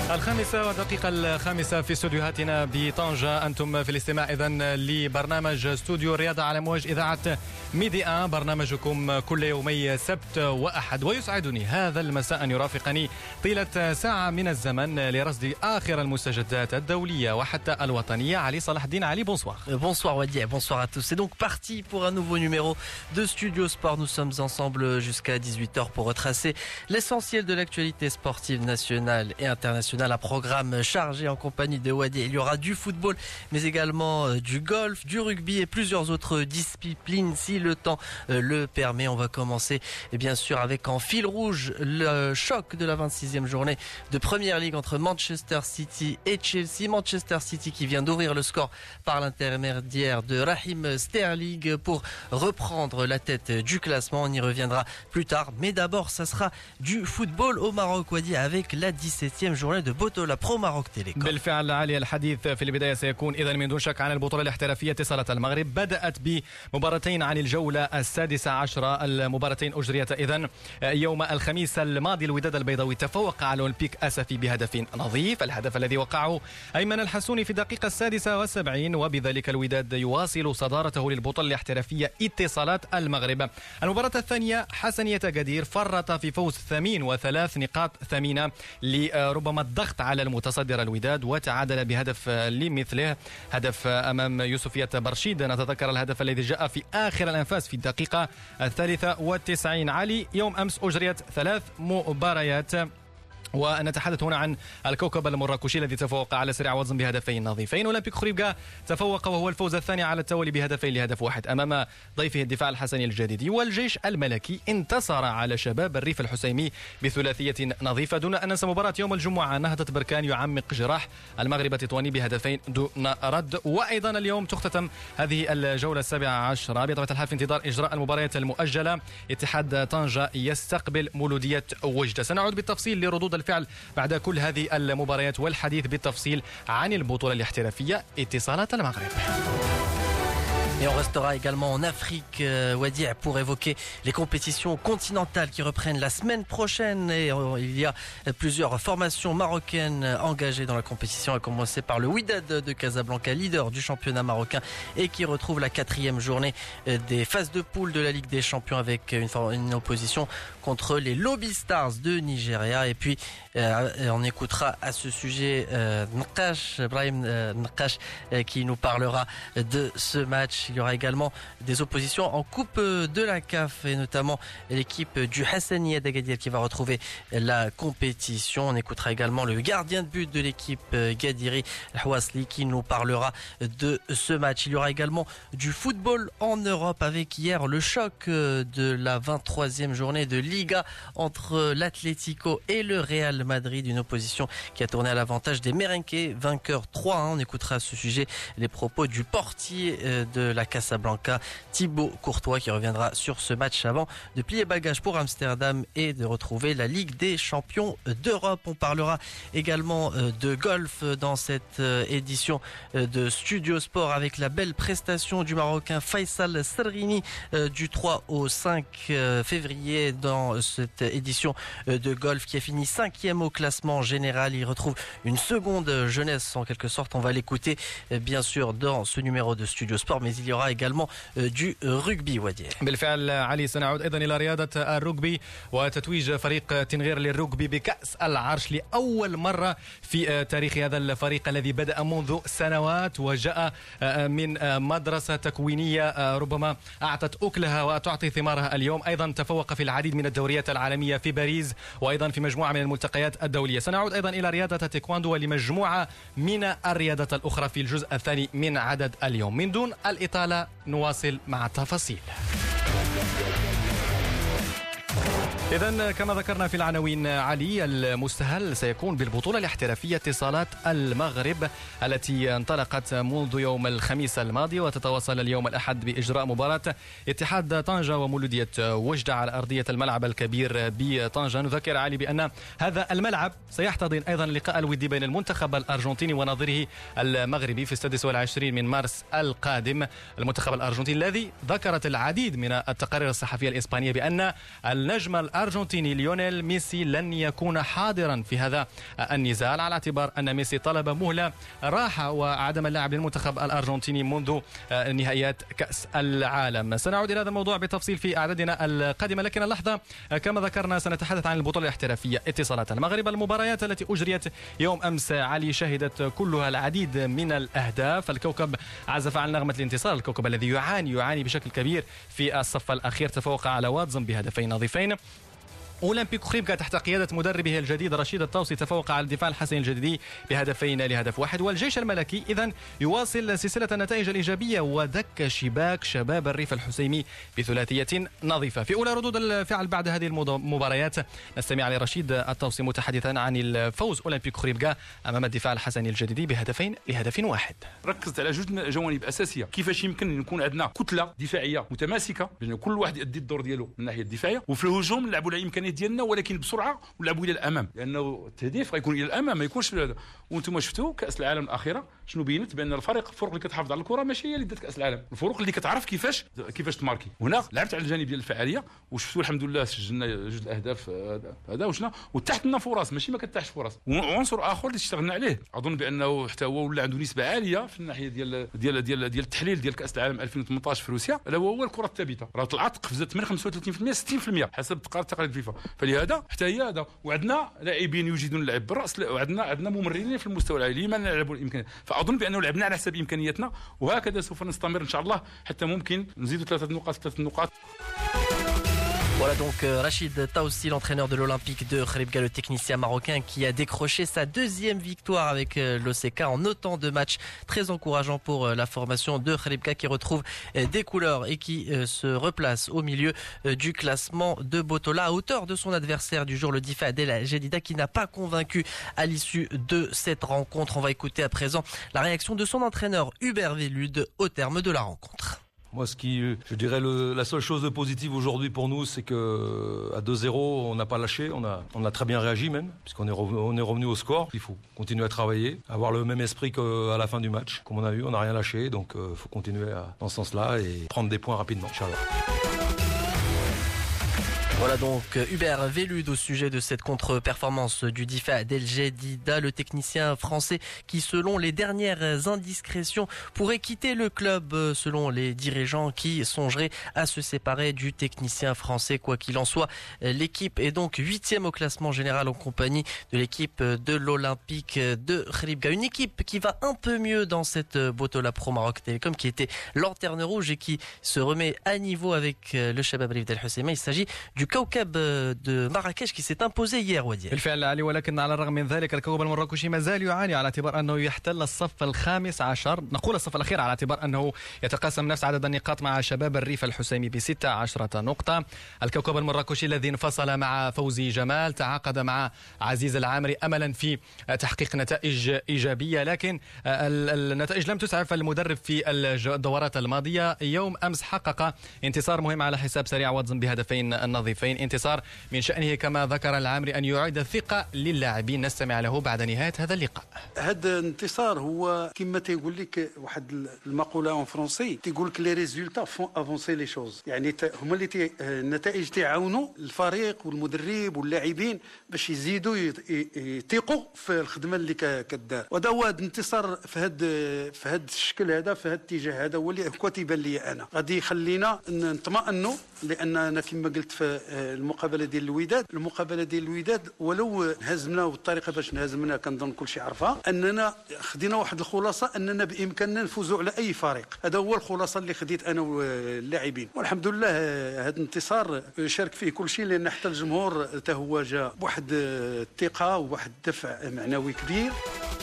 الخامسة في استوديوهاتنا بطنجة. أنتم في الاستماع إذن لبرنامج استوديو الرياضة على موج إذاعة ميدي آن، برنامجكم كل يومي سبت وأحد. ويسعدني هذا المساء أن يرافقني طيلة ساعة من الزمن لرصد آخر المستجدات الدولية وحتى الوطنية. علي صلاح الدين. علي، bonsoir. Bonsoir Wadi, bonsoir à tous. C'est donc parti pour un nouveau numéro de Studio Sport. Nous sommes ensemble jusqu'à 18h pour retracer l'essentiel de l'actualité sportive nationale et internationale. Un programme chargé en compagnie de Wadi. Il y aura du football, mais également du golf, du rugby et plusieurs autres disciplines si le temps le permet. On va commencer bien sûr avec en fil rouge le choc de la 26e journée de Première Ligue entre Manchester City et Chelsea. Manchester City qui vient d'ouvrir le score par l'intermédiaire de Raheem Sterling pour reprendre la tête du classement. On y reviendra plus tard, mais d'abord ça sera du football au Maroc, Wadi, avec la 17e journée de بطولة برو ماروك تيليكوم. بالفعل علي، الحديث في البداية سيكون إذن من دون شك عن البطولة الاحترافية اتصالات المغرب. بدأت بمباراتين عن الجولة 16. المباراتين أجريت إذن يوم الخميس الماضي. الوداد البيضاوي تفوق على أولمبيك أسفي بهدف نظيف، الهدف الذي وقعه أيمن الحسوني في الدقيقة 76، وبذلك الوداد يواصل صدارته للبطولة الاحترافية اتصالات المغرب. المباراة الثانية حسنية قدير فرط في فوز ثمين و3 نقاط ثمينة لربما الضغط على المتصدر الوداد، وتعادل بهدف لمثله، هدف أمام يوسفية برشيد. نتذكر الهدف الذي جاء في آخر الأنفاس في الدقيقة 93. علي، يوم أمس أجريت 3 مباريات، ونتحدث هنا عن الكوكب المراكشي الذي تفوق على سريع وزن بهدفين نظيفين. أولمبيك خريبكا تفوق وهو الفوز الثاني على التوالي بهدفين لهدف واحد أمام ضيفه الدفاع الحسني الجديدي. والجيش الملكي انتصر على شباب الريف الحسيمي بثلاثية نظيفة. دون أن ننسى مباراة يوم الجمعة، نهضة بركان يعمق جراح المغرب التطواني بهدفين دون رد. وأيضا اليوم تختتم هذه الجولة 17 بطبيعة الحال في انتظار إجراء المباريات المؤجلة. اتحاد طنجة يستقبل مولودية وجدة. سنعود بالتفصيل لردود الفعل بعد كل هذه المباريات والحديث بالتفصيل عن البطولة الاحترافية اتصالات المغرب. Et on restera également en Afrique, Wadi, pour évoquer les compétitions continentales qui reprennent la semaine prochaine. Et il y a plusieurs formations marocaines engagées dans la compétition, à commencer par le Wydad de Casablanca, leader du championnat marocain, et qui retrouve la 4e journée des phases de poule de la Ligue des Champions avec une opposition contre les Lobby Stars de Nigeria. Et puis, on écoutera à ce sujet Ibrahim Nakash qui nous parlera de ce match. Il y aura également des oppositions en Coupe de la CAF et notamment l'équipe du Hassaniya d'Agadir qui va retrouver la compétition. On écoutera également le gardien de but de l'équipe Gadiri, Houasli, qui nous parlera de ce match. Il y aura également du football en Europe avec hier le choc de la 23e journée de Liga entre l'Atlético et le Real Madrid, une opposition qui a tourné à l'avantage des Merengues, vainqueurs 3-1. On écoutera à ce sujet les propos du portier de la Casablanca, Thibaut Courtois, qui reviendra sur ce match avant de plier bagage pour Amsterdam et de retrouver la Ligue des champions d'Europe. On parlera également de golf dans cette édition de Studio Sport avec la belle prestation du Marocain Faisal Serrini du 3 au 5 février dans cette édition de golf qui a fini 5e au classement général. Il retrouve une seconde jeunesse en quelque sorte. On va l'écouter bien sûr dans ce numéro de Studio Sport, mais il y aura également du rugby. ودي. بالفعل علي، سنعود أيضا إلى رياضة الرugby وتتويج فريق تنغير للرugby بكأس العرش لأول مرة في تاريخ هذا الفريق الذي بدأ منذ سنوات وجاء من مدرسة تكوينية ربما أعطت أكلها وتعطي ثمارها اليوم. أيضا تفوق في العديد من الدوريات العالمية في باريس وأيضا في مجموعة من الملتقيات الدولية. سنعود أيضا إلى رياضة التايكواندو ولمجموعة من الرياضات الأخرى في الجزء الثاني من عدد اليوم. من دون الإطالة نواصل مع التفاصيل. إذن كما ذكرنا في العناوين علي، المستهل سيكون بالبطولة الاحترافية اتصالات المغرب التي انطلقت منذ يوم الخميس الماضي وتتواصل اليوم الأحد بإجراء مباراة اتحاد طنجة ومولودية وجدة على أرضية الملعب الكبير بطنجة. نذكر علي بأن هذا الملعب سيحتضن أيضا اللقاء الودي بين المنتخب الأرجنتيني ونظيره المغربي في 26 من مارس القادم. المنتخب الأرجنتيني الذي ذكرت العديد من التقارير الصحفية الإسبانية بأن النجم الأرجنتيني ليونيل ميسي لن يكون حاضرا في هذا النزال، على اعتبار أن ميسي طلب مهلة راحة وعدم اللعب للمنتخب الأرجنتيني منذ نهائيات كأس العالم. سنعود إلى هذا الموضوع بتفصيل في أعدادنا القادمة، لكن اللحظة كما ذكرنا سنتحدث عن البطولة الاحترافية اتصالات المغرب. المباريات التي أجريت يوم أمس علي شهدت كلها العديد من الأهداف. الكوكب عزف عن نغمة الانتصار، الكوكب الذي يعاني بشكل كبير في الصف الأخير، تفوق على واتزن بهدفين نظيفين. أولمبيك خريبكا تحت قيادة مدربه الجديد رشيد الطوسي تفوق على الدفاع الحسني الجديدي بهدفين لهدف واحد. والجيش الملكي إذن يواصل سلسلة النتائج الإيجابية ودك شباك شباب الريف الحسيمي بثلاثية نظيفة. في أولى ردود الفعل بعد هذه المباريات نستمع لرشيد الطوسي متحدثا عن الفوز أولمبيك خريبكا أمام الدفاع الحسني الجديدي بهدفين لهدف واحد. ركزت على جوج جوانب أساسية، كيفاش يمكن يكون عندنا كتلة دفاعية متماسكة بين كل واحد يؤدي الدور ديالو من الناحية الدفاعية، وفي الهجوم نلعبوا على إمكانيات ديالنا ولكن بسرعه ونلعبوا الى الامام، لانه التهديف غيكون الى الامام ما يكونش هذا. وانتم شفتوا كاس العالم الاخيره شنو بينت، بان الفرق اللي كتحافظ على الكره ماشي هي اللي دات كاس العالم، الفرق اللي كتعرف كيفاش تماركي. هنا لعبت على الجانب ديال الفعاليه وشفتوا الحمد لله سجلنا جوج الاهداف هذا وشنا، وتحت لنا فرص ماشي ما كتحتش فرص. وعنصر اخر اللي اشتغلنا عليه اظن بانه حتى هو ولا عنده نسبه عاليه في الناحيه ديال التحليل ديال كاس العالم 2018 في روسيا، الا هو الكره الثابته، راه طلعت قفزت من 35% 60% حسب تقارير فيفا. فلهذا حتى هي هذا، وعندنا لاعبين يجيدون اللعب بالراس، وعندنا ممررين في المستوى العالي لما نلعبوا الامكانيات. فاظن بانه لعبنا على حسب امكانياتنا، وهكذا سوف نستمر ان شاء الله حتى ممكن نزيدوا ثلاث نقاط. Voilà donc Rachid Taoussi, l'entraîneur de l'Olympique de Khribga, le technicien marocain qui a décroché sa deuxième victoire avec l'OCK en autant de matchs, très encourageant pour la formation de Khribga qui retrouve des couleurs et qui se replace au milieu du classement de Botola à hauteur de son adversaire du jour, le Difa Adel Jedida, qui n'a pas convaincu à l'issue de cette rencontre. On va écouter à présent la réaction de son entraîneur Hubert Velud au terme de la rencontre. Moi, je dirais la seule chose de positive aujourd'hui pour nous, c'est que à 2-0, on n'a pas lâché, on a très bien réagi même, puisqu'on est revenu au score. Il faut continuer à travailler, avoir le même esprit qu'à la fin du match. Comme on a vu, on n'a rien lâché, donc il faut continuer dans ce sens-là et prendre des points rapidement, Inch'Allah. Voilà donc Hubert Velud au sujet de cette contre-performance du Difa Adel Jedida, le technicien français qui, selon les dernières indiscrétions, pourrait quitter le club, selon les dirigeants qui songeraient à se séparer du technicien français. Quoi qu'il en soit, l'équipe est donc 8e au classement général en compagnie de l'équipe de l'Olympique de Khribga. Une équipe qui va un peu mieux dans cette Botola Pro Maroc Télécom, qui était lanterne rouge et qui se remet à niveau avec le Shabab Rif Del Husseima. Il s'agit du كوكب de Marrakech qui s'est imposé hier ودي. بالفعل علي، ولكن على الرغم من ذلك الكوكب المراكشي ما زال يعاني على اعتبار انه يحتل الصف الخامس عشر، نقول الصف الاخير، على اعتبار انه يتقاسم نفس عدد النقاط مع شباب الريف الحسيمي ب16 نقطة. الكوكب المراكشي الذي انفصل مع فوزي جمال تعاقد مع عزيز العامري املا في تحقيق نتائج ايجابية، لكن النتائج لم تسعف المدرب في الدورات الماضية. يوم امس حقق انتصار مهم على حساب سريع واتزن بهدفين نظيفين، انتصار من شأنه كما ذكر العامري أن يعيد الثقة للاعبين. نستمع له بعد نهاية هذا اللقاء. هذا الانتصار هو كما تيقول لك واحد المقولة اون فرونسي، تيقول لك لي ريزولتا فون افونسي لي شوز، يعني هما اللي النتائج تعاونوا الفريق والمدرب واللاعبين باش يزيدوا يثيقوا في الخدمة اللي كدار. وهذا هو الانتصار في هذا الشكل هذا، في هذا الاتجاه هذا هو اللي تيبان لي انا غادي يخلينا نطمئنوا، لاننا كما قلت في المقابله ديال الوداد ولو هزمنا والطريقه باش نهزمنا كنظن كلشي عرفها، اننا خدينا واحد الخلاصه اننا بامكاننا نفوزوا على اي فريق. هذا هو الخلاصه اللي خديت انا واللاعبين، والحمد لله هذا الانتصار شارك فيه كلشي، لان حتى الجمهور حتى هو جا بواحد الثقه وواحد الدفع معنوي كبير.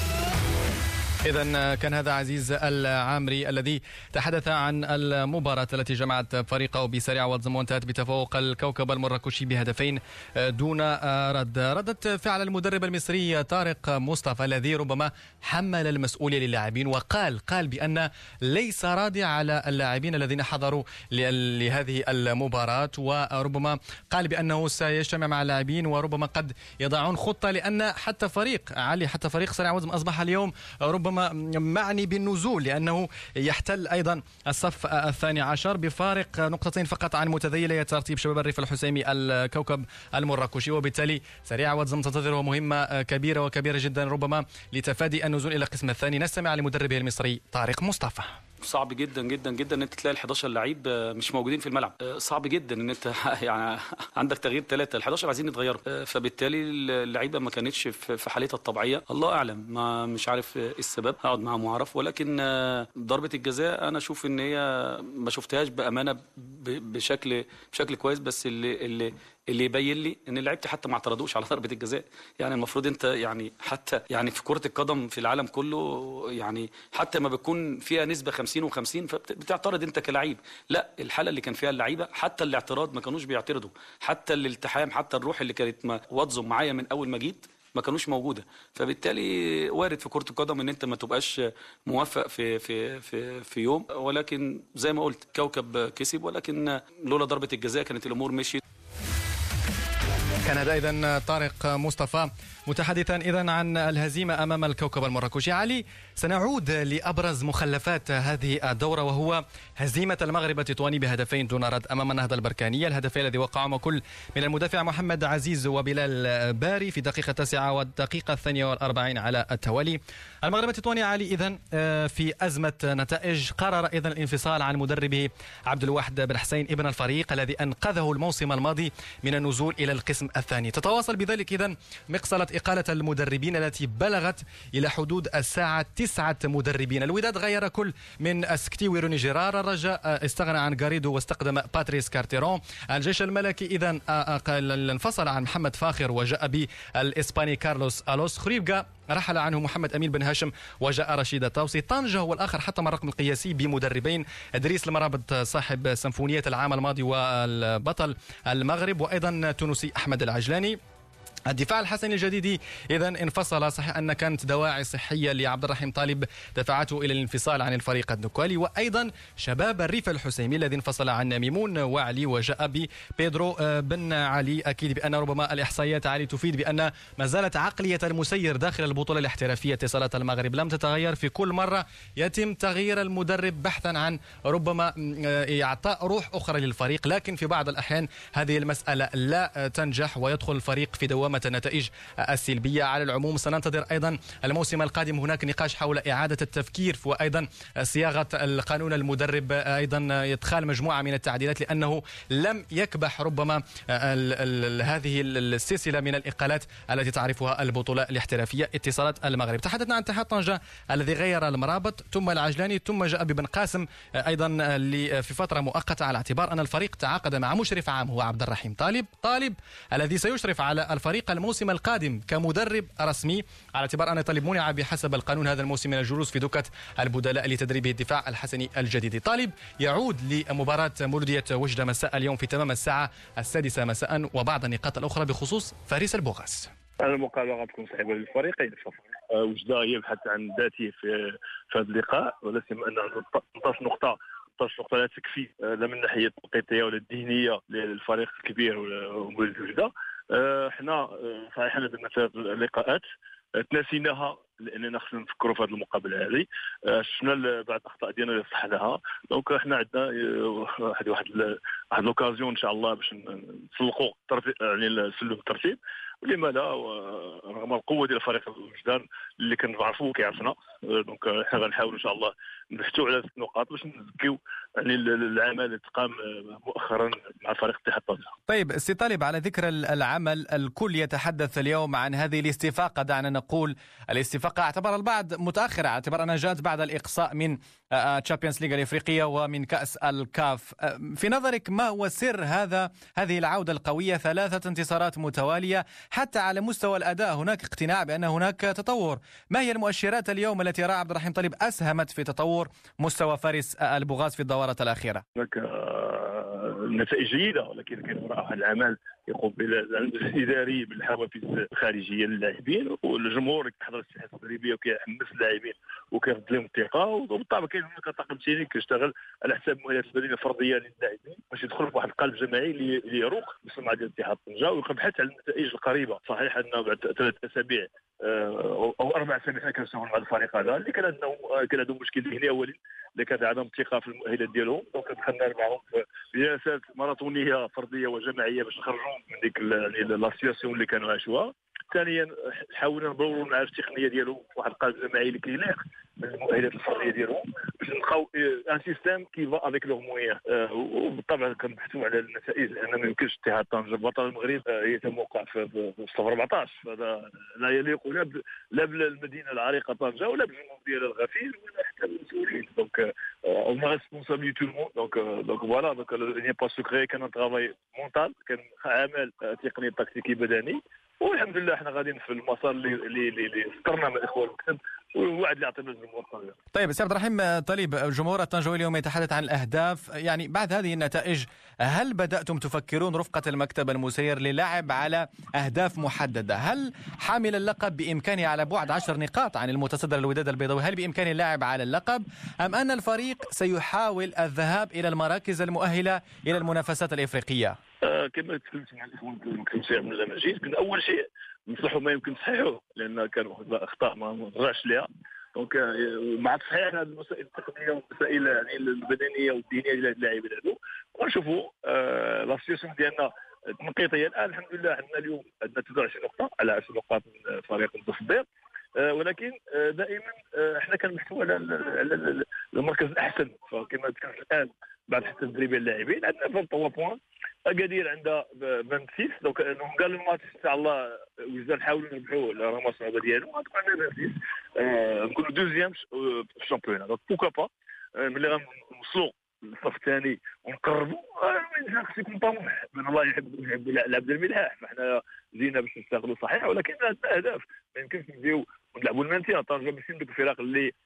إذن كان هذا عزيز العامري الذي تحدث عن المباراة التي جمعت فريقه بسريع واتزن وانتهت بتفوق الكوكب المراكشي بهدفين دون رد. ردت فعل المدرب المصري طارق مصطفى الذي ربما حمل المسؤولية للاعبين وقال بأن ليس راضي على اللاعبين الذين حضروا لهذه المباراة، وربما قال بأنه سيجتمع مع اللاعبين وربما قد يضعون خطة، لأن حتى فريق سريع واتزن أصبح اليوم ربما ربما معني بالنزول، لأنه يحتل أيضا الصف الثاني عشر بفارق نقطتين فقط عن متذيلي ترتيب شباب الريف الحسيمي الكوكب المراكشي، وبالتالي سريع واتزم تنتظره مهمة كبيرة وكبيرة جدا ربما لتفادي النزول إلى القسم الثاني. نستمع لمدربه المصري طارق مصطفى. صعب جدا جدا جدا ان انت تلاقي ال 11 لعيب مش موجودين في الملعب. صعب جدا ان انت يعني عندك تغيير 3، ال 11 عايزين يتغيروا، فبالتالي اللعيبه ما كانتش في حالتها الطبيعيه. الله اعلم، ما مش عارف ايه السبب، هقعد معاهم واعرف. ولكن ضربه الجزاء انا اشوف ان هي ما شفتهاش بامانه بشكل كويس، بس اللي يبين لي ان لعيبتي حتى ما اعترضوش على ضربه الجزاء. يعني المفروض انت يعني حتى يعني في كره القدم في العالم كله يعني حتى ما بتكون فيها نسبه 50 و50 فبتعترض انت كلاعب. لا، الحاله اللي كان فيها اللعيبه حتى الاعتراض ما كانوش بيعترضوا، حتى الالتحام، حتى الروح اللي كانت واظم معايا من اول ما جيت ما كانوش موجوده. فبالتالي وارد في كره القدم ان انت ما تبقاش موفق في يوم، ولكن زي ما قلت كوكب كسب، ولكن لولا ضربه الجزاء كانت الامور مشيت. كان هذا إذن طارق مصطفى متحدثا إذن عن الهزيمة أمام الكوكب المراكشي. علي، سنعود لأبرز مخلفات هذه الدورة، وهو هزيمة المغرب التطواني بهدفين دون رد أمام النهضة البركانية. الهدفين الذي وقعهما كل من المدافع محمد عزيز وبلال باري في دقيقة 9 والدقيقة 42 على التوالي. المغرب التطواني علي إذن في أزمة نتائج، قرر إذن الانفصال عن مدربه عبد الواحد بن حسين ابن الفريق الذي أنقذه الموسم الماضي من النزول إلى القسم الثاني. تتواصل بذلك إذن مقصلة إقالة المدربين التي بلغت إلى حدود الساعة 9 مدربين. الوداد غير كل من اسكتي روني جيرار، الرجاء استغنى عن غاريدو واستخدم باتريس كارتيرون. الجيش الملكي إذن انفصل عن محمد فاخر وجاء بالإسباني كارلوس ألوس. خريبكا رحل عنه محمد أمين بن هاشم وجاء رشيد طاوسي. طنجة هو الآخر حطم الرقم القياسي بمدربين، إدريس المرابط صاحب سيمفونية العام الماضي والبطل المغرب، وأيضا تونسي أحمد العجلاني. الدفاع الحسني الجديدي إذن انفصل، صحيح أن كانت دواعي صحية لعبد الرحيم طالب دفعته إلى الانفصال عن الفريق النكالي. وأيضا شباب الريف الحسيمي الذي انفصل عن ميمون وعلي وجاء ببيدرو بن علي. أكيد بأن ربما الإحصائيات علي تفيد بأن ما زالت عقلية المسير داخل البطولة الاحترافية اتصالات المغرب لم تتغير. في كل مرة يتم تغيير المدرب بحثا عن ربما إعطاء روح أخرى للفريق، لكن في بعض الأحيان هذه المسألة لا تنجح ويدخل الفريق في دوامة النتائج السلبية. على العموم سننتظر أيضا الموسم القادم، هناك نقاش حول إعادة التفكير وأيضا صياغة القانون المدرب، أيضا إدخال مجموعة من التعديلات، لأنه لم يكبح ربما هذه السلسلة من الإقالات التي تعرفها البطولة الاحترافية اتصالات المغرب. تحدثنا عن اتحاد طنجة الذي غير المرابط ثم العجلاني ثم جاء ببن قاسم أيضا في فترة مؤقتة، على اعتبار أن الفريق تعاقد مع مشرف عام هو عبد الرحيم طالب الذي سيشرف على الفريق الموسم القادم كمدرب رسمي، على اعتبار أن طالب منع بحسب القانون هذا الموسم من الجلوس في دكة البدلاء لتدريبه الدفاع الحسني الجديد. طالب يعود لمباراة مولودية وجدة مساء اليوم في تمام الساعة 6 مساء، وبعض النقاط الأخرى بخصوص فارس البوغاس. المقابلة غتكون صعبة للفريقين. وجدة يبحث عن ذاته في هذا اللقاء، ولا سيما أن عنده 12 نقطة لا تكفي لا من الناحية التوقيتية ولا الذهنية للفريق الكبير ومولود وجدة. احنا صحيح درنا ثلاث لقاءات تناسيناها لاننا خصنا نفكروا في هذه المقابله هذه، شفنا بعض الاخطاء ديالنا اللي صحناها. دونك احنا عندنا واحد لوكازيون ان شاء الله باش نسلقوا يعني سلم الترتيب، ولما لا رغم القوه ديال فريق الوجدان اللي كنعرفوه كيعرفنا. دونك احنا غنحاولوا ان شاء الله نبحثوا على 6 نقاط باش نزكيو يعني العمل اللي تقام مؤخرا مع فريق اتحاد طنجة. طيب سي طالب، على ذكر العمل، الكل يتحدث اليوم عن هذه الاستفاقة، دعنا نقول الاستفاقة اعتبر البعض متأخرة، اعتبر أنها جاءت بعد الإقصاء من تشامبيونز ليغ الإفريقية ومن كأس الكاف. في نظرك ما هو سر هذه العودة القوية؟ 3 انتصارات متوالية، حتى على مستوى الأداء هناك اقتناع بأن هناك تطور. ما هي المؤشرات اليوم التي رأى عبد الرحيم طالب أسهمت في تطور مستوى فارس البوغاس في الدورة الأخيرة؟ هناك نتائج جيدة، ولكن كاين وراء العمل يقوم بالاداري بالحوافز الخارجيه للاعبين، والجمهور كيحضر الساحات التدريبيه وكيحمس اللاعبين وكيرد لهم الثقه. وبالطبع كاين هناك طاقم تكنيكي كيشتغل على حساب مؤهلات البدنيه الفرديه للاعبين باش يدخل في واحد القلب جماعي اللي يروق بالسمعه ديال اتحاد طنجة ويبحث على النتائج القريبه. صحيح ان بعد 3 أسابيع او 4 سنين حنا كنشتغلوا مع الفريق هذا اللي كان عندهم مشكل ذهني اولي اللي كان عندهم ثقه في المؤهلات ديالهم. دونك دخلنا معهم في جلسات ماراثونيه فرديه وجماعيه باش نخرجوا من ديك لا سيتواسيون اللي كانوا عاشوها. ثانيا حاولنا نبرروا المعارف التقنيه ديالهم واحد القالب جماعي اللي كيليق من المؤهلات الفرديه ديالهم باش نلقاو ان سيستيم كي فا افيك لور مويان. وبالطبع كنبحثوا على النتائج لان ما يمكنش اتحاد طنجة بطل المغرب يتموقع في صف 14. هذا لا يليق لا بالمدينه العريقه طنجة ولا بالجمهور ديالها الغفير ولا حتى بالمسؤولين. دونك on a responsabilité tout le monde. Donc voilà, donc il n'y a pas secret كان un travail mental كان عمل تقني تكتيكي بدني. والحمد لله احنا غاديين في المسار اللي اخترنا مع الاخوان المكتب والوعد اللي عطينا للجمهور الطنجاوي. طيب سي عبد الرحيم طليب، الجمهور الطنجاوي اليوم يتحدث عن الاهداف، يعني بعد هذه النتائج هل بدأتم تفكرون رفقة المكتب المسير للعب على اهداف محددة؟ هل حامل اللقب بامكانه على بعد 10 نقاط عن المتصدر الوداد البيضاوي، هل بامكانه اللعب على اللقب ام ان الفريق سيحاول الذهاب الى المراكز المؤهلة الى المنافسات الافريقية؟ كما تكلمت مع الاخوان المكتب من المجيد كنا اول شيء نصلحوا ما يمكن تصحيحه لان كانوا اخطاء ما نرجعش ليها. دونك مع تصحيح هذه المسائل التقنيه والمسائل يعني البدنيه والدينيه ديال اللاعبين هذو ونشوفوا لا سيتواسيون ديالنا تنقيطيه. الان الحمد لله عندنا اليوم عندنا 29 نقطه على 10 نقاط من فريق المتصدر، ولكن دائما احنا كنبحثوا على المركز الاحسن. فكما ذكرت الان بعد حتى تدريب اللاعبين عندنا 23 بوان، اكادير عندها 26. دونك قال الماتش ان شاء الله وزاد نحاولوا نربحوا الرماس هذا ديالو غتكون عندنا 26 نكونوا دوزيام في الشامبيون. دونك بوكا با ملي غنوصلوا للصف الثاني ونقربوا خص يكون طموح من الله يحب العبد الملحاح. فاحنا جينا باش نشتغلوا صحيح ولكن عندنا اهداف ما يمكنش نبداو ونلعبوا المانتيا. طنجة ماشي من ديك الفرق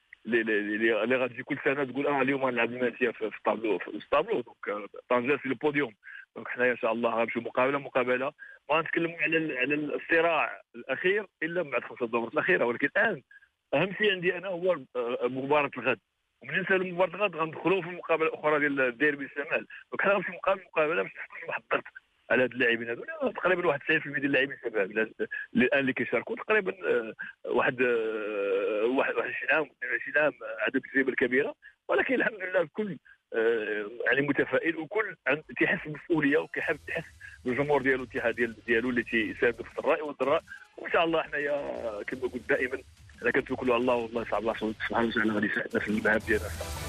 اللي غتجي كل سنه تقول اليوم غنلعب المانتيا في الطابلو دونك طنجة في البوديوم. دونك حنايا ان شاء الله غنمشيو مقابله ما نتكلموا على الصراع الاخير الا بعد 5 دورات الاخيره. ولكن الان اهم شيء عندي انا هو مباراه الغد، ومن ننسى مباراه الغد غندخلوا في المقابله الاخرى ديال الديربي الشمال. دونك حنا غنمشيو مقابله باش نحطوا واحد الضغط على هاد اللاعبين هذو. تقريبا واحد 90% ديال اللاعبين شباب الان اللي كيشاركوا تقريبا واحد 21 عام 22 عام عدد التجربه الكبيره. ولكن الحمد لله الكل يعني متفائل وكل تيحس بالمسؤوليه وكيحب تحس بالجمهور ديالو الاتحاد ديالو اللي تيساند في الراي والضراء. وان شاء الله حنايا كما قلت دائما انا كنتوكلوا على الله والله صعب الله سبحانه وتعالى غادي يساعدنا في المهام ديالنا.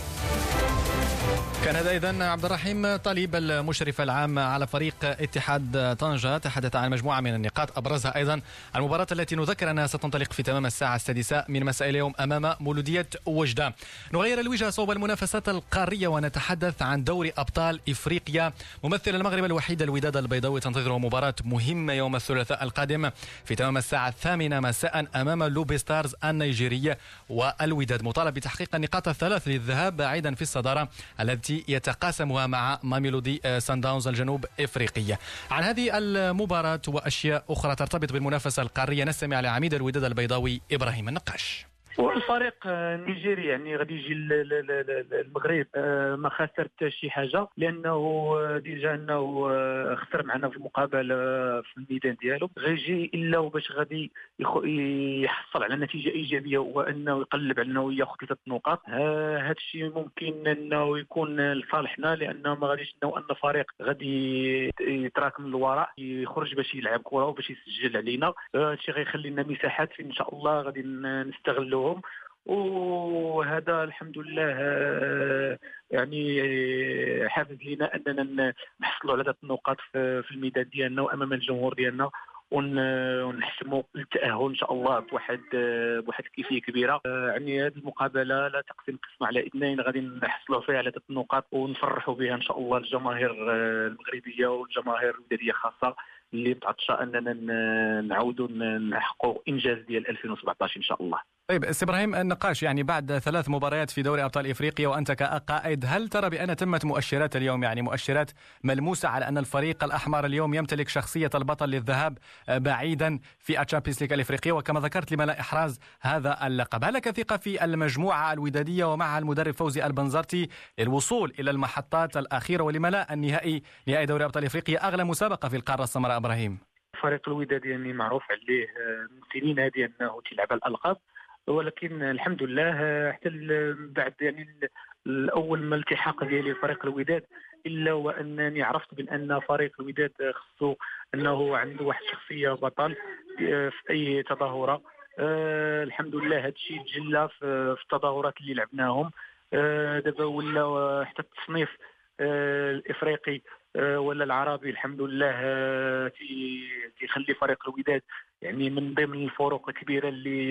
كان هذا إذن عبد الرحيم طليب المشرف العام على فريق اتحاد طنجة تحدث عن مجموعة من النقاط أبرزها أيضا المباراة التي نذكر أنها ستنطلق في تمام الساعة 6 من مساء اليوم أمام مولودية وجدة. نغير الوجهة صوب المنافسات القارية ونتحدث عن دوري أبطال إفريقيا. ممثل المغرب الوحيد الوداد البيضاوي تنتظره مباراة مهمة يوم الثلاثاء القادم في تمام الساعة 8 مساء أمام لوبي ستارز النيجيري. والوداد مطالب بتحقيق النقاط الثلاث للذهاب بعيدا في الصدارة التي يتقاسمها مع ماميلودي سانداونز الجنوب افريقيه. عن هذه المباراه واشياء اخرى ترتبط بالمنافسه القاريه نستمع لعميد الوداد البيضاوي ابراهيم النقاش. والفريق النيجيري يعني غادي يجي المغرب ما خسر حتى شي حاجه لانه ديجا انه خسر معنا في المقابله في الميدان ديالو. غيجي الا باش غادي يحصل على نتيجه ايجابيه وانه يقلب على انه ياخذ 3 نقاط. هذا الشيء ممكن انه يكون لصالحنا لانه ما غاديش انه ان الفريق غادي يتراكم للوراء يخرج باش يلعب كره وباش يسجل علينا. هذا الشيء غيخلي لنا مساحات ان شاء الله غادي نستغلوا وهذا الحمد لله يعني حافز لنا اننا نحصلوا على 3 نقاط في الميدان ديالنا وامام الجمهور ديالنا ونحسموا التاهل ان شاء الله بواحد الكيفيه كبيره. يعني هذه المقابله لا تقسم قسم على 2 غادي نحصلوا فيها على 3 نقاط ونفرحوا بها ان شاء الله الجماهير المغربيه والجماهير الوداديه خاصه اللي متعطشه اننا نعاودوا نحققوا انجاز ديال 2017 ان شاء الله. طيب سي ابراهيم النقاش، يعني بعد 3 مباريات في دوري ابطال افريقيا وانت كقائد، هل ترى بان تمت مؤشرات اليوم، يعني مؤشرات ملموسه على ان الفريق الاحمر اليوم يمتلك شخصيه البطل للذهاب بعيدا في الشامبيونز ليج الافريقيه وكما ذكرت لملا احراز هذا اللقب؟ هل لك ثقه في المجموعه الوداديه ومعها المدرب فوزي البنزرتي للوصول الى المحطات الاخيره ولملا النهائي دوري ابطال افريقيا اغلى مسابقه في القاره السمراء؟ ابراهيم فريق الوداد يعني معروف عليه من سنين هذه انه تلعب على الالقاب، ولكن الحمد لله حتى بعد يعني الاول ما الالتحاق ديالي فريق الوداد الا وانني عرفت بان فريق الوداد خصو انه عنده واحد الشخصيه بطل في اي تظاهره. الحمد لله هذا الشيء تجلى في التظاهرات اللي لعبناهم. دابا ولا حتى التصنيف الافريقي ولا العربي الحمد لله تيخلي فريق الوداد يعني من ضمن الفروق الكبيره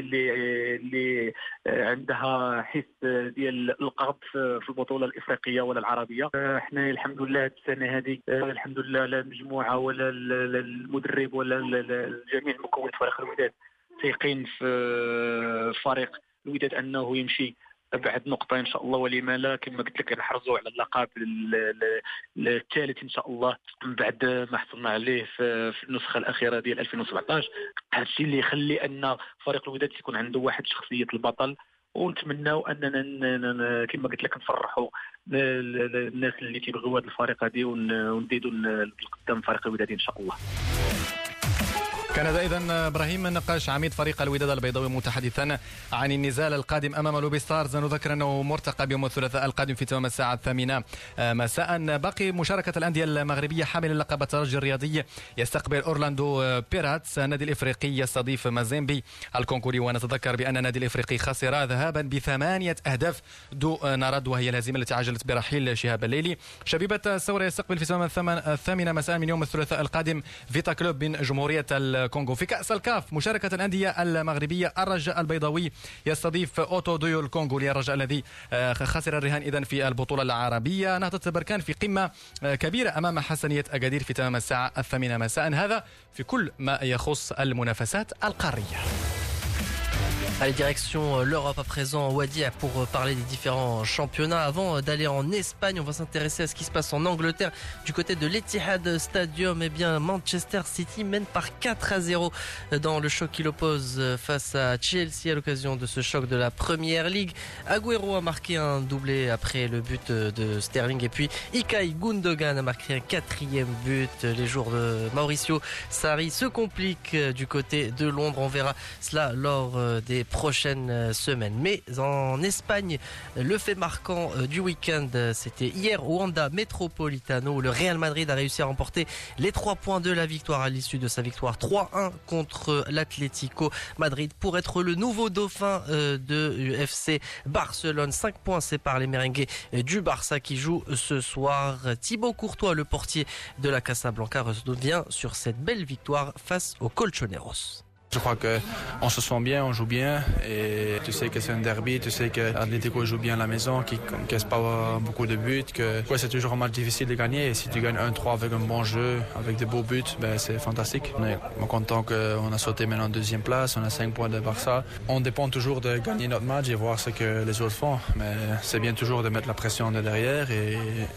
اللي عندها حس ديال القرض في البطوله الافريقيه ولا العربيه. احنا الحمد لله السنه هذه الحمد لله لا المجموعه ولا المدرب ولا جميع مكونات فريق الوداد ثقين في فريق الوداد انه يمشي بعد نقطة إن شاء الله، ولما لا كما قلت لك نحرزوا على اللقب الثالث إن شاء الله من بعد ما حصلنا عليه في النسخة الأخيرة ديال 2017. هذا الشيء اللي يخلي أن فريق الوداد يكون عنده واحد شخصية البطل، ونتمناو أننا كما قلت لك نفرحوا الناس اللي تيبغيو هذا الفريق هذه ونزيدوا لقدام فريق الوداد إن شاء الله. كان هذا إذن إبراهيم نقاش عميد فريق الوداد البيضاوي متحدثا عن النزال القادم أمام لوبي ستارز. نذكر أنه مرتقب يوم الثلاثاء القادم في تمام الساعة 8 مساء. باقي مشاركة الأندية المغربية حامل لقب الترجي الرياضي يستقبل أورلاندو بيراتس. النادي الإفريقي يستضيف مازيمبي الكونغولي، ونتذكر بأن النادي الإفريقي خسر ذهابا ب8 أهداف دون رد، وهي الهزيمة التي عجلت برحيل شهاب الليلي. شبيبة الثورة يستقبل في تمام 8 مساء من يوم الثلاثاء القادم فيتا كلوب من جمهورية الكونغو. في كأس الكاف مشاركة الأندية المغربية الرجاء البيضاوي يستضيف أوتو ديو الكونغولي، الرجاء الذي خسر الرهان إذن في البطولة العربية. نهضة بركان في قمة كبيرة أمام حسنية أكادير في تمام الساعة 8 مساء. هذا في كل ما يخص المنافسات القارية. Allez, direction l'Europe à présent, Wadi, pour parler des différents championnats. Avant d'aller en Espagne, on va s'intéresser à ce qui se passe en Angleterre. Du côté de l'Etihad Stadium, eh bien, Manchester City mène par 4-0 dans le choc qui l'oppose face à Chelsea à l'occasion de ce choc de la Première Ligue. Agüero a marqué un doublé après le but de Sterling, et puis Ilkay Gundogan a marqué un 4e but. Les jours de Mauricio Sarri se compliquent du côté de Londres. On verra cela lors des prochaines semaines. Mais en Espagne, le fait marquant du week-end, c'était hier au Wanda Metropolitano, où le Real Madrid a réussi à remporter les 3 points de la victoire à l'issue de sa victoire 3-1 contre l'Atlético Madrid pour être le nouveau dauphin de FC Barcelone. 5 points séparent les merengues du Barça qui joue ce soir. Thibaut Courtois, le portier de la Casablanca, revient sur cette belle victoire face aux Colchoneros. Je crois qu'on se sent bien, on joue bien, et tu sais que c'est un derby, tu sais que l'Atlético joue bien à la maison, qu'il ne casse pas beaucoup de buts, que c'est toujours un match difficile de gagner, et si tu gagnes 1-3 avec un bon jeu, avec des beaux buts, ben c'est fantastique. On est content qu'on a sauté maintenant en 2e place, on a 5 points de Barça. On dépend toujours de gagner notre match et voir ce que les autres font, mais c'est bien toujours de mettre la pression de derrière et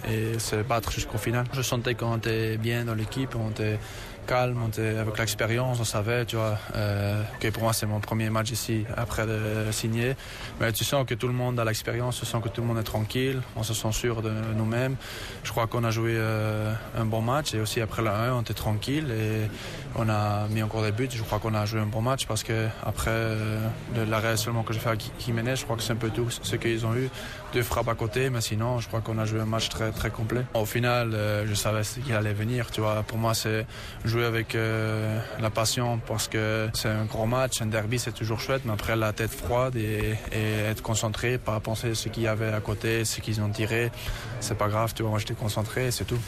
se battre jusqu'au final. Je sentais qu'on était bien dans l'équipe, on était calme, avec l'expérience, on savait, tu vois, que pour moi c'est mon premier match ici après de signer. Mais tu sens que tout le monde a l'expérience, tu sens que tout le monde est tranquille, on se sent sûr de nous-mêmes. Je crois qu'on a joué un bon match, et aussi après la 1, on était tranquille et on a mis encore des buts. Je crois qu'on a joué un bon match parce que après l'arrêt seulement que j'ai fait à Jiménez, je crois que c'est un peu tout ce qu'ils ont eu. 2 frappes à côté, mais sinon je crois qu'on a joué un match très très complet. Au final, je savais ce qu'il allait venir, tu vois. Pour moi, c'est jouer avec la passion parce que c'est un gros match, un derby, c'est toujours chouette, mais après la tête froide et être concentré, pas penser à ce qu'il y avait à côté, ce qu'ils ont tiré, c'est pas grave, tu vois. Moi j'étais concentré et c'est tout.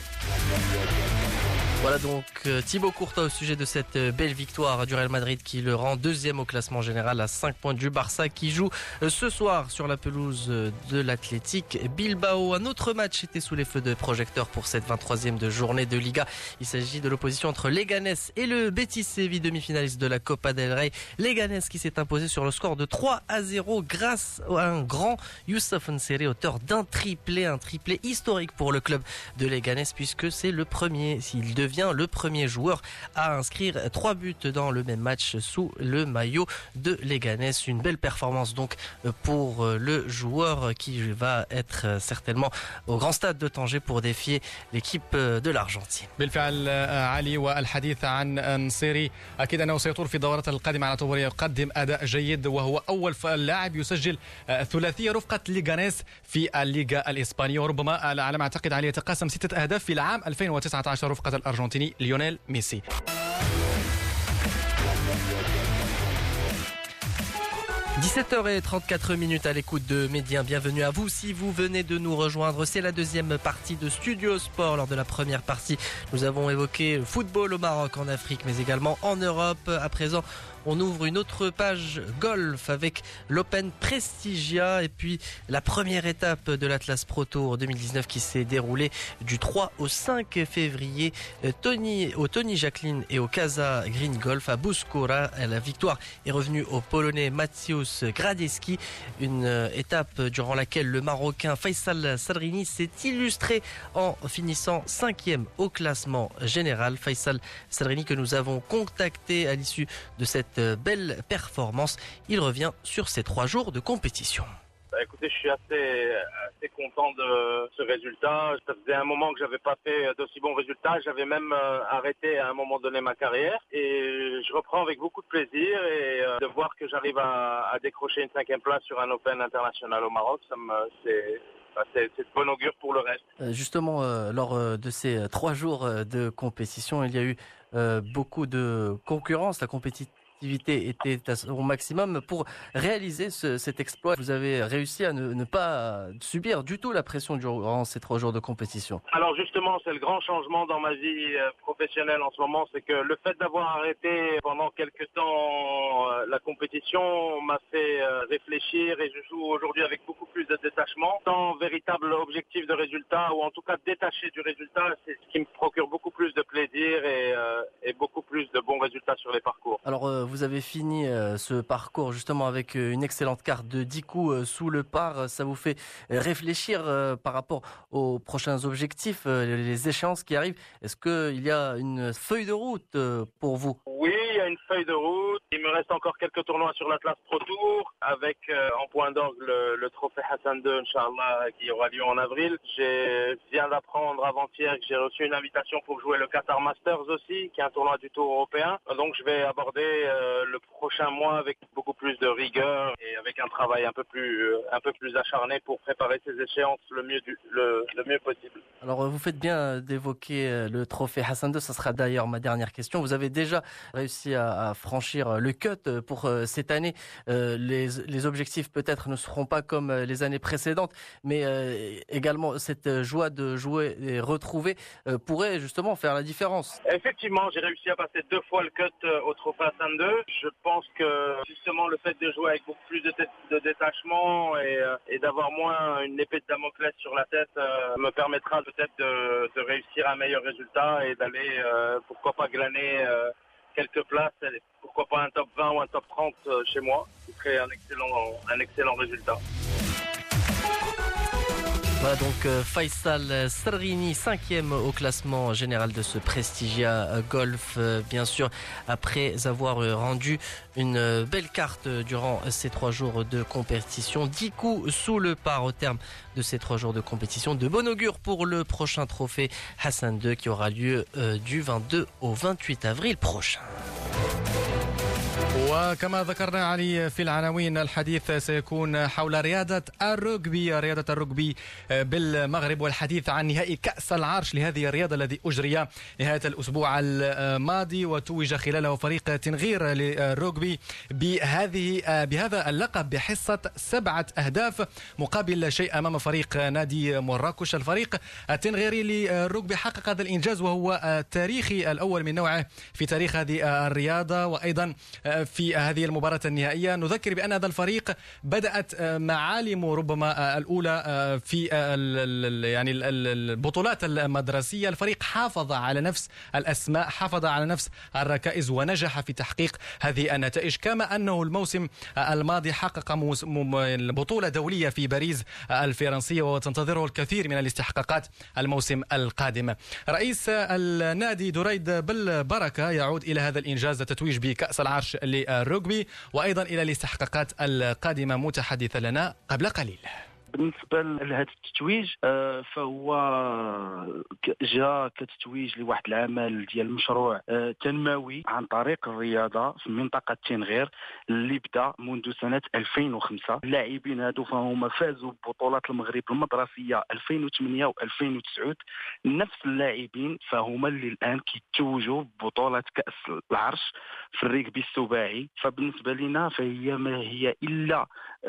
Voilà donc Thibaut Courtois au sujet de cette belle victoire du Real Madrid qui le rend 2e au classement général à 5 points du Barça qui joue ce soir sur la pelouse de l'Athletic Bilbao. Un autre match était sous les feux de projecteurs pour cette 23e de journée de Liga. Il s'agit de l'opposition entre Leganés et le Betis Séville, demi-finaliste de la Copa del Rey. Leganés qui s'est imposé sur le score de 3-0 grâce à un grand Youssef Nseri, auteur d'un triplé historique pour le club de Leganés puisque c'est le premier, s'il devait devient le premier joueur à inscrire 3 buts dans le même match sous le maillot de Leganés. Une belle performance donc pour le joueur qui va être certainement au grand stade de Tanger pour défier l'équipe de l'Argentine. بالفعل علي، والحديث عن نصيري أكيد أنه سيطول في الدورات القادمة على اعتباره يقدم أداء جيد، وهو أول لاعب يسجل ثلاثية رفقة ليغانيس في الليغا الإسبانية، وربما على ما أعتقد عليه يتقاسم 6 أهداف في العام 2019 رفقة الأرجنتيني ليونيل ميسي. 17h34 à l'écoute de Médien. Bienvenue à vous si vous venez de nous rejoindre. C'est la deuxième partie de Studio Sport. Lors de la première partie, nous avons évoqué le football au Maroc, en Afrique, mais également en Europe. À présent, on ouvre une autre page golf avec l'Open Prestigia et puis la première étape de l'Atlas Pro Tour 2019 qui s'est déroulée du 3 au 5 février au Tony Jacqueline et au Casa Green Golf à Bouskoura. La victoire est revenue au Polonais Mateusz Gradecki, une étape durant laquelle le Marocain Faisal Sadrini s'est illustré en finissant 5e au classement général. Faisal Sadrini que nous avons contacté à l'issue de cette belle performance. Il revient sur ces 3 jours de compétition. Écoutez, je suis assez content de ce résultat. Ça faisait un moment que j'avais pas fait d'aussi bons résultats. J'avais même arrêté à un moment donné ma carrière et je reprends avec beaucoup de plaisir et de voir que j'arrive à décrocher une 5e place sur un Open international au Maroc, c'est de bon augure pour le reste. Justement, lors de ces 3 jours de compétition, il y a eu beaucoup de concurrence. La compétitivité était à son maximum. Pour réaliser cet exploit, vous avez réussi à ne pas subir du tout la pression durant ces 3 jours de compétition. Alors justement, c'est le grand changement dans ma vie professionnelle en ce moment, c'est que le fait d'avoir arrêté pendant quelques temps la compétition m'a fait réfléchir et je joue aujourd'hui avec beaucoup plus de détachement, sans véritable objectif de résultat ou en tout cas détaché du résultat. C'est ce qui me procure beaucoup plus de plaisir et beaucoup plus de bons résultats sur les parcours. Alors vous avez fini ce parcours justement avec une excellente carte de 10 coups sous le par. Ça vous fait réfléchir par rapport aux prochains objectifs, les échéances qui arrivent. Est-ce qu'il y a une feuille de route pour vous? Oui, il y a une feuille de route. Il me reste encore quelques tournois sur l'Atlas Pro Tour avec en point d'orgue le trophée Hassan II, Inch'Allah, qui aura lieu en avril. Je viens d'apprendre avant-hier que j'ai reçu une invitation pour jouer le Qatar Masters aussi, qui est un tournoi du Tour européen. Donc je vais aborder le prochain mois avec beaucoup plus de rigueur et avec un travail un peu plus acharné pour préparer ces échéances le mieux possible. Alors vous faites bien d'évoquer le trophée Hassan II, ça sera d'ailleurs ma dernière question. Vous avez déjà réussi à franchir le cut pour cette année. Les objectifs peut-être ne seront pas comme les années précédentes, mais également cette joie de jouer et retrouver pourrait justement faire la différence. Effectivement, j'ai réussi à passer 2 fois le cut au trophée Hassan II. Je pense que justement le fait de jouer avec beaucoup plus de détachement et d'avoir moins une épée de Damoclès sur la tête me permettra peut-être de réussir un meilleur résultat et d'aller pourquoi pas glaner quelques places, pourquoi pas un top 20 ou un top 30 chez moi, ce serait un excellent résultat. Voilà donc Faisal Sadrini, 5e au classement général de ce Prestigia Golf. Bien sûr, après avoir rendu une belle carte durant ces 3 jours de compétition. 10 coups sous le par au terme de ces 3 jours de compétition. De bon augure pour le prochain trophée Hassan II qui aura lieu du 22 au 28 avril prochain. وكما ذكرنا علي في العناوين، الحديث سيكون حول رياضة الرugby بالمغرب، والحديث عن نهائي كأس العرش لهذه الرياضة الذي أجري نهاية الأسبوع الماضي، وتوج خلاله فريق تنغير للرugby بهذا اللقب بحصة 7 أهداف مقابل لا شيء أمام فريق نادي مراكش. الفريق التنغيري للرugby حقق هذا الإنجاز وهو تاريخي الأول من نوعه في تاريخ هذه الرياضة، وأيضا في في هذه المباراة النهائية. نذكر بأن هذا الفريق بدأت معالم ربما الأولى في يعني البطولات المدرسية. الفريق حافظ على نفس الأسماء، حافظ على نفس الركائز، ونجح في تحقيق هذه النتائج، كما أنه الموسم الماضي حقق بطولة دولية في باريس الفرنسية، وتنتظره الكثير من الاستحقاقات الموسم القادم. رئيس النادي دريد بالبركة يعود إلى هذا الإنجاز، التتويج بكأس العرش للرugby، وأيضا إلى الاستحقاقات القادمة، متحدث لنا قبل قليل. بالنسبه لهذا التتويج فهو جاء كتتويج لواحد العمل ديال مشروع تنموي عن طريق الرياضه في منطقه تنغير اللي بدا منذ سنه 2005. اللاعبين هادو فهم فازوا ببطولات المغرب المدرسيه 2008 و2009. نفس اللاعبين فهما اللي الان كيتوجوا ببطوله كاس العرش في الريغبي السباعي. فبالنسبه لنا فهي ما هي الا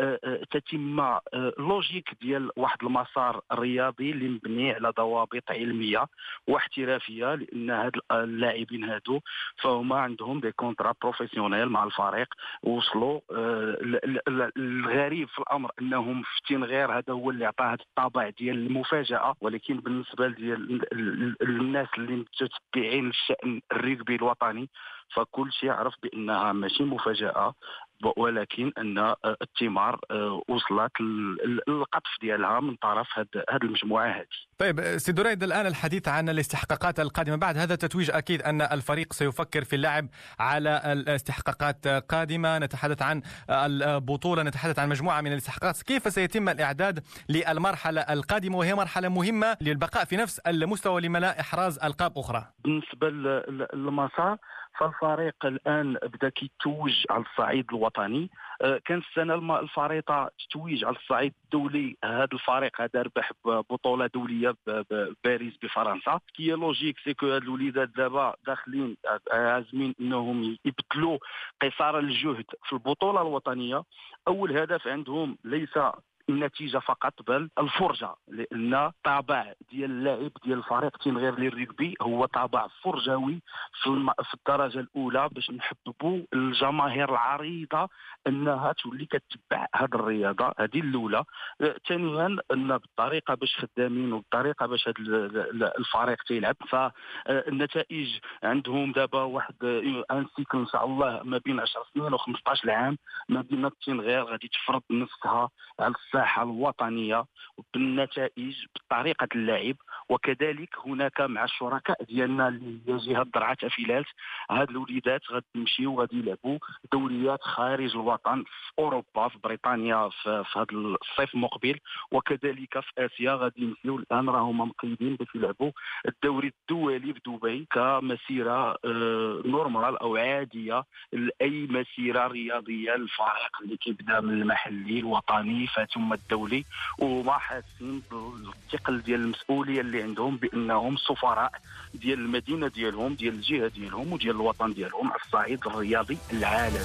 تتم لوجيك ديال واحد المسار رياضي اللي مبني على ضوابط علميه واحترافيه، لان هاد اللاعبين هادو فهما عندهم دي كونترا بروفيسيونيل مع الفريق وصلوا. الغريب في الامر انهم في تنغير هذا هو اللي عطاه هذا الطابع ديال المفاجاه، ولكن بالنسبه ديال الناس اللي متتبعين الشان الريغبي الوطني فكل شيء يعرف بانها ماشي مفاجاه، ولكن ان الثمار وصلت القطف ديالها من طرف هذه المجموعه هذه. طيب سي دريد، الان الحديث عن الاستحقاقات القادمه بعد هذا التتويج، اكيد ان الفريق سيفكر في اللعب على الاستحقاقات قادمه. نتحدث عن البطوله، نتحدث عن مجموعه من الاستحقاقات. كيف سيتم الاعداد للمرحله القادمه، وهي مرحله مهمه للبقاء في نفس المستوى لما لا احراز القاب اخرى؟ بالنسبه للمسار فالفريق الان بدا كيتوج على الصعيد الوطني. كان السنه الفريطه تتويج على الصعيد الدولي. هذا الفريق هذا ربح بطوله دوليه بباريس بفرنسا. كي لوجيك سي كو هاد الوليدات دابا داخلين عازمين انهم يبدلوا قصار الجهد في البطوله الوطنيه. اول هدف عندهم ليس النتيجه فقط بل الفرجه، لان طابع ديال اللاعب ديال الفريق تنغير للريغبي هو طابع فرجوي في الدرجه الاولى، باش نحببوا الجماهير العريضه انها تولي كتتبع هذه الرياضه. هذه الاولى. ثانيا ان بالطريقه باش خدامين وبالطريقه باش هذا الفريق تيلعب، فالنتائج عندهم دابا واحد ان سيكل ان شاء الله ما بين 10 سنين و15 عام. مدينه تنغير غادي تفرض نفسها على الساحه الوطنيه بالنتائج بطريقه اللعب. وكذلك هناك مع الشركاء ديالنا اللي هي جهه درعا تافيلات، هاد الوليدات غادي يمشيو وغادي يلعبوا دوريات خارج الوطن في اوروبا، في بريطانيا في هذا الصيف المقبل، وكذلك في اسيا غادي يمشيو. الان راهم مقيدين باش يلعبوا الدوري الدولي في دبي كمسيره نورمال او عاديه لاي مسيره رياضيه للفريق اللي كيبدا من المحلي الوطني ثم الدولي، وما حاسين بالثقل ديال المسؤوليه اللي عندهم بانهم سفراء ديال المدينه ديالهم، ديال الجهه ديالهم وديال الوطن ديالهم على الصعيد الرياضي العالمي.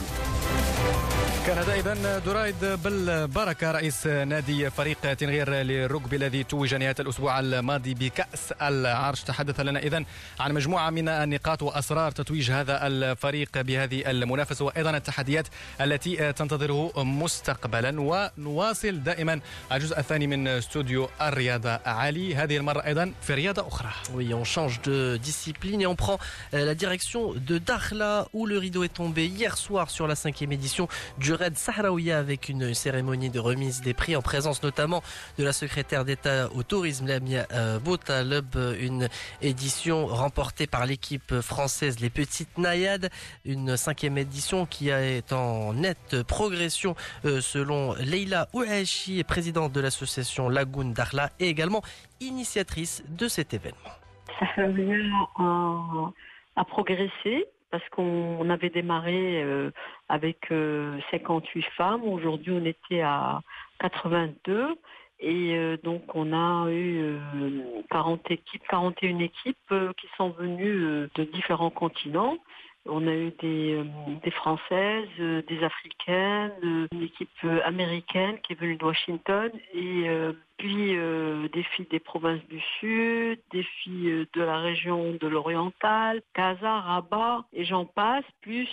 كان هذا إذن دريد بالبركة رئيس نادي فريق تنغير للرugby الذي توج نهاية الأسبوع الماضي بكأس العرش. تحدث لنا إذن عن مجموعة من النقاط وأسرار تتويج هذا الفريق بهذه المنافسة، وأيضا التحديات التي تنتظره مستقبلا. ونواصل دائما الجزء الثاني من استوديو الرياضة علي، هذه المرة أيضا في رياضة أخرى. Oui, on change de discipline et on prend la direction de Dakhla où le rideau est tombé hier soir sur la 5e édition du Raid Sahraouia avec une cérémonie de remise des prix en présence notamment de la secrétaire d'État au tourisme Lamia Boutaleb, une édition remportée par l'équipe française Les Petites Naïades, une 5e édition qui est en nette progression selon Leila Ouachi, présidente de l'association Lagoun Dakhla et également initiatrice de cet événement. Sahraouia a progressé parce qu'on avait démarré avec 58 femmes. Aujourd'hui, on était à 82. Et donc, on a eu 41 équipes qui sont venues de différents continents. On a eu des Françaises, des Africaines, une équipe américaine qui est venue de Washington et puis des filles des provinces du Sud, des filles de la région de l'Oriental, Casa, Rabat et j'en passe, plus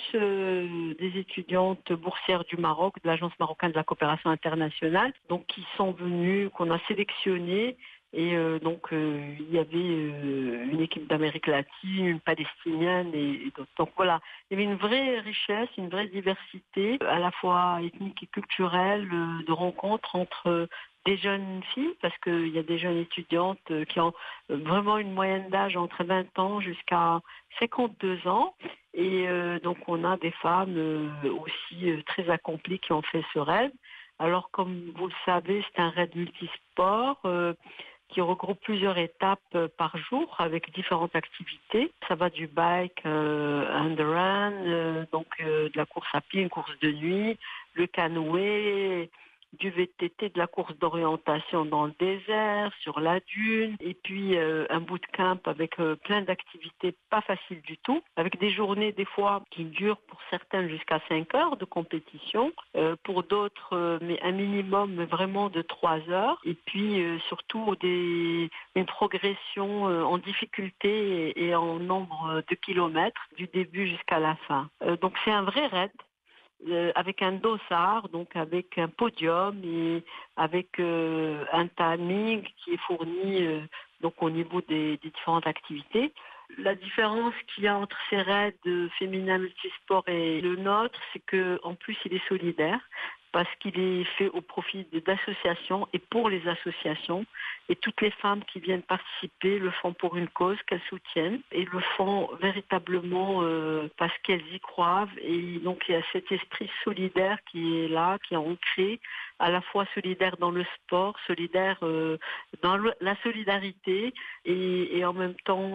des étudiantes boursières du Maroc, de l'Agence marocaine de la coopération internationale, donc qui sont venues, qu'on a sélectionnées. Et donc il y avait une équipe d'Amérique latine, une palestinienne et d'autres. Donc voilà, il y avait une vraie richesse, une vraie diversité, à la fois ethnique et culturelle, de rencontres entre des jeunes filles, parce qu'il y a des jeunes étudiantes qui ont vraiment une moyenne d'âge entre 20 ans jusqu'à 52 ans. Et donc on a des femmes aussi très accomplies qui ont fait ce raid. Alors comme vous le savez, c'est un raid multisport qui regroupe plusieurs étapes par jour avec différentes activités. Ça va du bike, and run, donc de la course à pied, une course de nuit, le canoë, du VTT, de la course d'orientation dans le désert, sur la dune, et puis un bootcamp avec plein d'activités pas faciles du tout, avec des journées des fois qui durent pour certaines jusqu'à 5 heures de compétition, pour d'autres mais un minimum vraiment de 3 heures, et puis surtout une progression en difficulté et en nombre de kilomètres du début jusqu'à la fin. Donc c'est un vrai raid. Avec un dossard, donc avec un podium et avec un timing qui est fourni donc au niveau des différentes activités. La différence qu'il y a entre ces raids féminins multisport et le nôtre, c'est qu'en plus il est solidaire, parce qu'il est fait au profit d'associations et pour les associations. Et toutes les femmes qui viennent participer le font pour une cause qu'elles soutiennent et le font véritablement parce qu'elles y croient. Et donc il y a cet esprit solidaire qui est là, qui est ancré, à la fois solidaire dans le sport, solidaire dans la solidarité et en même temps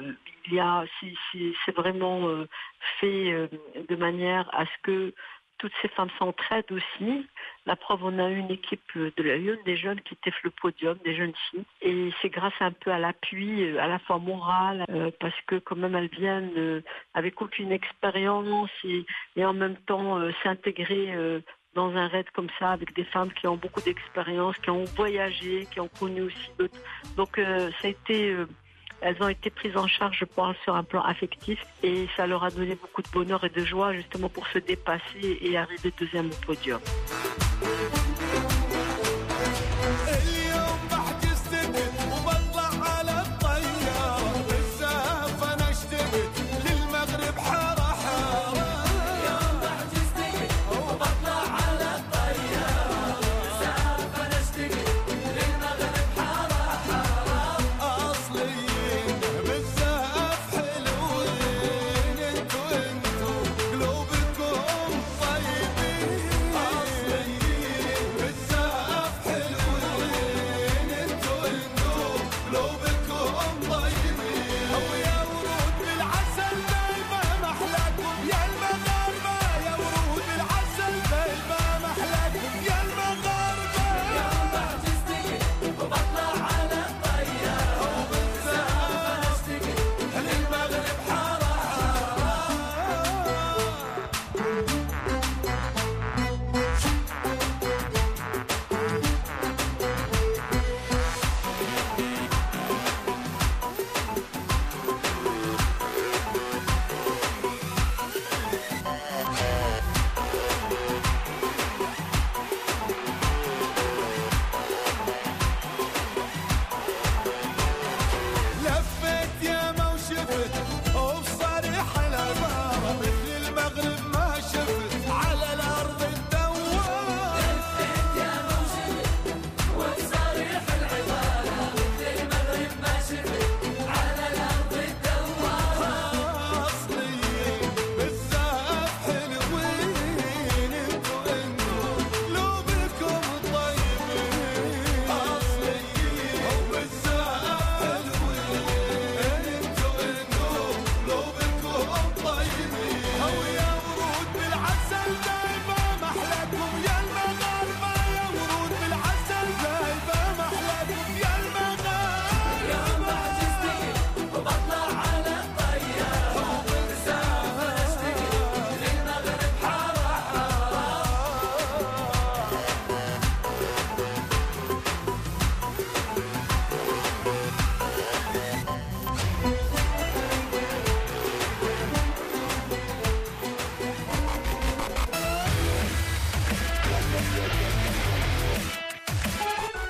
c'est vraiment fait de manière à ce que toutes ces femmes s'entraident aussi. La preuve, on a eu une équipe des jeunes qui étaient le podium, des jeunes filles. Et c'est grâce un peu à l'appui, à la fois moral, parce que quand même elles viennent avec aucune expérience et en même temps s'intégrer dans un raid comme ça avec des femmes qui ont beaucoup d'expérience, qui ont voyagé, qui ont connu aussi d'autres. Donc ça a été... Elles ont été prises en charge, je pense, sur un plan affectif et ça leur a donné beaucoup de bonheur et de joie justement pour se dépasser et arriver deuxième au podium.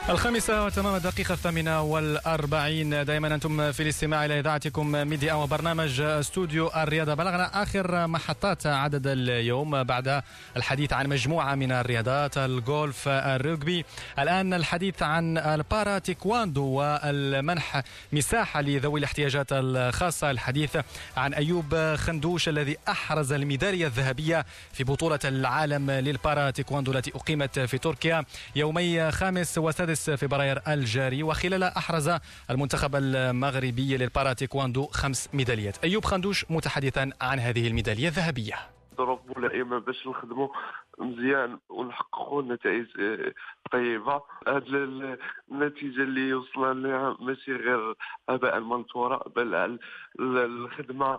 الخامسة وتمام الدقيقة 48 دائما أنتم في الاستماع إلى إذاعتكم ميديا وبرنامج استوديو الرياضة. بلغنا آخر محطات عدد اليوم بعد الحديث عن مجموعة من الرياضات، الجولف، الرugby. الآن الحديث عن البارا تيكواندو والمنح مساحة لذوي الاحتياجات الخاصة. الحديث عن أيوب خندوش الذي أحرز الميدالية الذهبية في بطولة العالم للبارا تيكواندو التي أقيمت في تركيا يومي 5 و6 فبراير الجاري، وخلالها أحرز المنتخب المغربي للبارا تيكواندو 5 ميداليات. أيوب خندوش متحدثا عن هذه الميدالية الذهبية. ظروف ملائمة باش نخدموا مزيان ونحققوا نتائج طيبة. هذه النتيجة اللي وصلنا لها ماشي غير هباء منثورا، بل الخدمة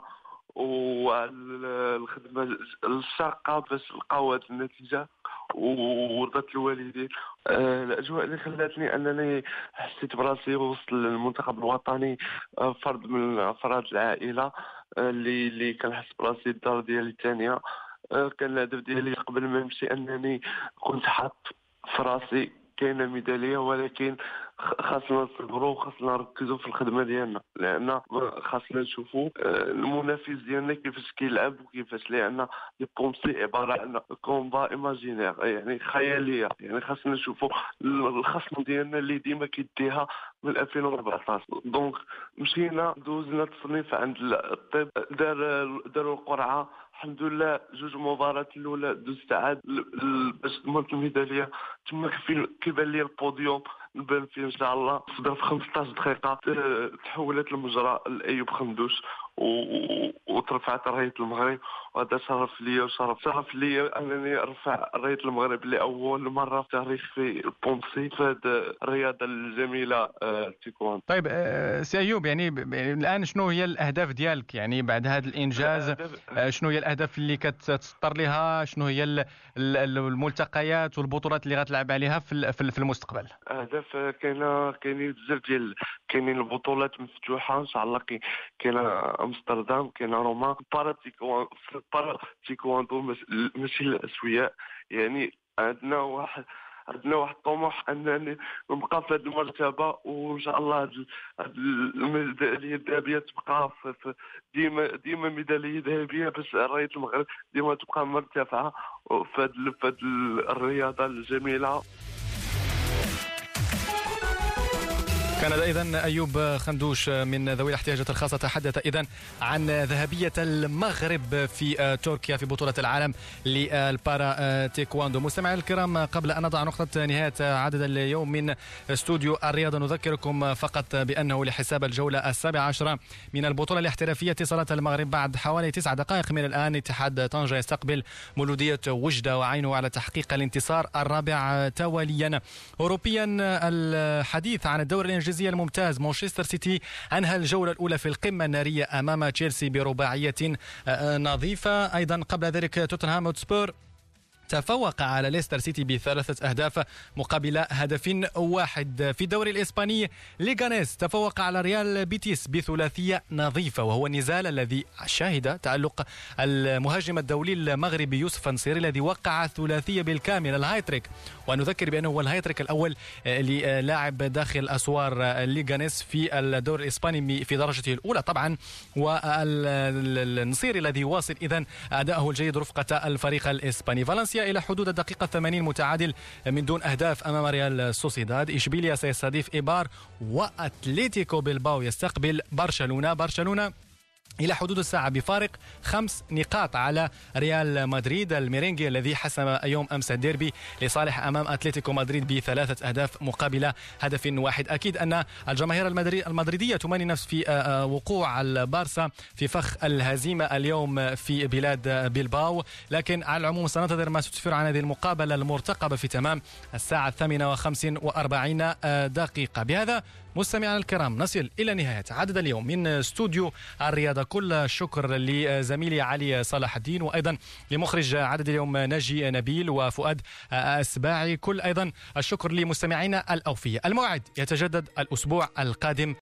والخدمة الشاقة باش نلقاو هذه النتيجة ورضت الوالدين. الأجواء اللي خلاتني أنني حسيت براسي وسط المنتخب الوطني فرد من أفراد العائلة اللي كنحس براسي الدار ديالي الثانية. كان الهدف ديالي قبل ما نمشي أنني كنت حاط في راسي كاينه ميداليه، ولكن خاصنا نصبروا وخاصنا نركزوا في الخدمه ديالنا، لان خاصنا نشوفوا المنافس ديالنا كيفاش كيلعب وكيفاش، لان لي بونسي عباره عن كومبا ايماجينير، يعني خياليه. يعني خاصنا نشوفوا الخصم ديالنا اللي ديما كيديها من 2014. دونك مشينا دوزنا التصنيف عند الطب، داروا القرعه، الحمد لله 2 مباريات الاولى دوزت عاد باش ضمنت الميداليه. تما كيبان لي البوديوم نبان فيه ان شاء الله. في 15 دقيقه تحولت المجرى لايوب خندوش وترفعت رايه المغرب، وهذا شرف لي وشرف لي انني ارفع رايه المغرب لاول مره في تاريخ في البونسي في هذه الرياضه الجميله التايكواندو. طيب سي ايوب، يعني الان شنو هي الاهداف ديالك يعني بعد هذا الانجاز؟ شنو هي الاهداف اللي كتسطر لها؟ شنو هي الملتقيات والبطولات اللي غتلعب عليها في المستقبل؟ اهداف كاينين بزاف كاينين البطولات مفتوحه ان شاء الله. كاينه امستردام، كاينه روما. بارا تيكواندو ماشي الاسوياء، يعني عندنا واحد طموح انني نبقى في هذه المرتبه، وان شاء الله هذه الميداليه الذهبيه تبقى ديما ميداليه ذهبيه، باش رايه المغرب ديما تبقى مرتفعه في هذه الرياضه الجميله. كان إذن أيوب خندوش من ذوي الاحتياجات الخاصة تحدث إذن عن ذهبية المغرب في تركيا في بطولة العالم للبارا تيكواندو. مستمعي الكرام، قبل أن نضع نقطة نهاية عدد اليوم من استوديو الرياضة، نذكركم فقط بأنه لحساب الجولة 17 من البطولة الاحترافية اتصالات المغرب بعد حوالي 9 دقائق من الآن. اتحاد طنجة يستقبل مولودية وجدة وعينه على تحقيق الانتصار الرابع تواليا. أوروبيا، الحديث عن الدوري الإنجليزي الممتاز. مانشستر سيتي أنهى الجولة الأولى في القمة النارية أمام تشيلسي برباعية نظيفة. أيضا قبل ذلك توتنهام هوتسبور تفوق على ليستر سيتي ب3 أهداف مقابل هدف واحد. في الدوري الإسباني، ليغانيس تفوق على ريال بيتيس بثلاثية نظيفة، وهو النزال الذي شهد تألق المهاجم الدولي المغربي يوسف النصيري الذي وقع ثلاثية بالكامل، الهايتريك. ونذكر بأنه هو الهايتريك الأول للاعب داخل أسوار ليغانيس في الدوري الإسباني في درجته الأولى طبعا. والنصيري الذي واصل إذن أداءه الجيد رفقة الفريق الإسباني. فالنسيا إلى حدود الدقيقة 80 متعادل من دون أهداف أمام ريال سوسيداد. إشبيليا سيستضيف إيبار، وأتليتيكو بلباو يستقبل برشلونة إلى حدود الساعة بفارق 5 نقاط على ريال مدريد الميرينجي الذي حسم يوم أمس الديربي لصالح أمام أتلتيكو مدريد ب3 أهداف مقابل هدف واحد. أكيد أن الجماهير المدريدية تماني نفس في وقوع البارسا في فخ الهزيمة اليوم في بلاد بلباو، لكن على العموم سننتظر ما تسفر عن هذه المقابلة المرتقبة في تمام الساعة 8:45 دقيقة. بهذا مستمعينا الكرام نصل إلى نهاية عدد اليوم من استوديو الرياضة. كل الشكر لزميلي علي صلاح الدين، وأيضا لمخرج عدد اليوم ناجي نبيل وفؤاد أسباعي. كل أيضا الشكر لمستمعينا الأوفياء. الموعد يتجدد الأسبوع القادم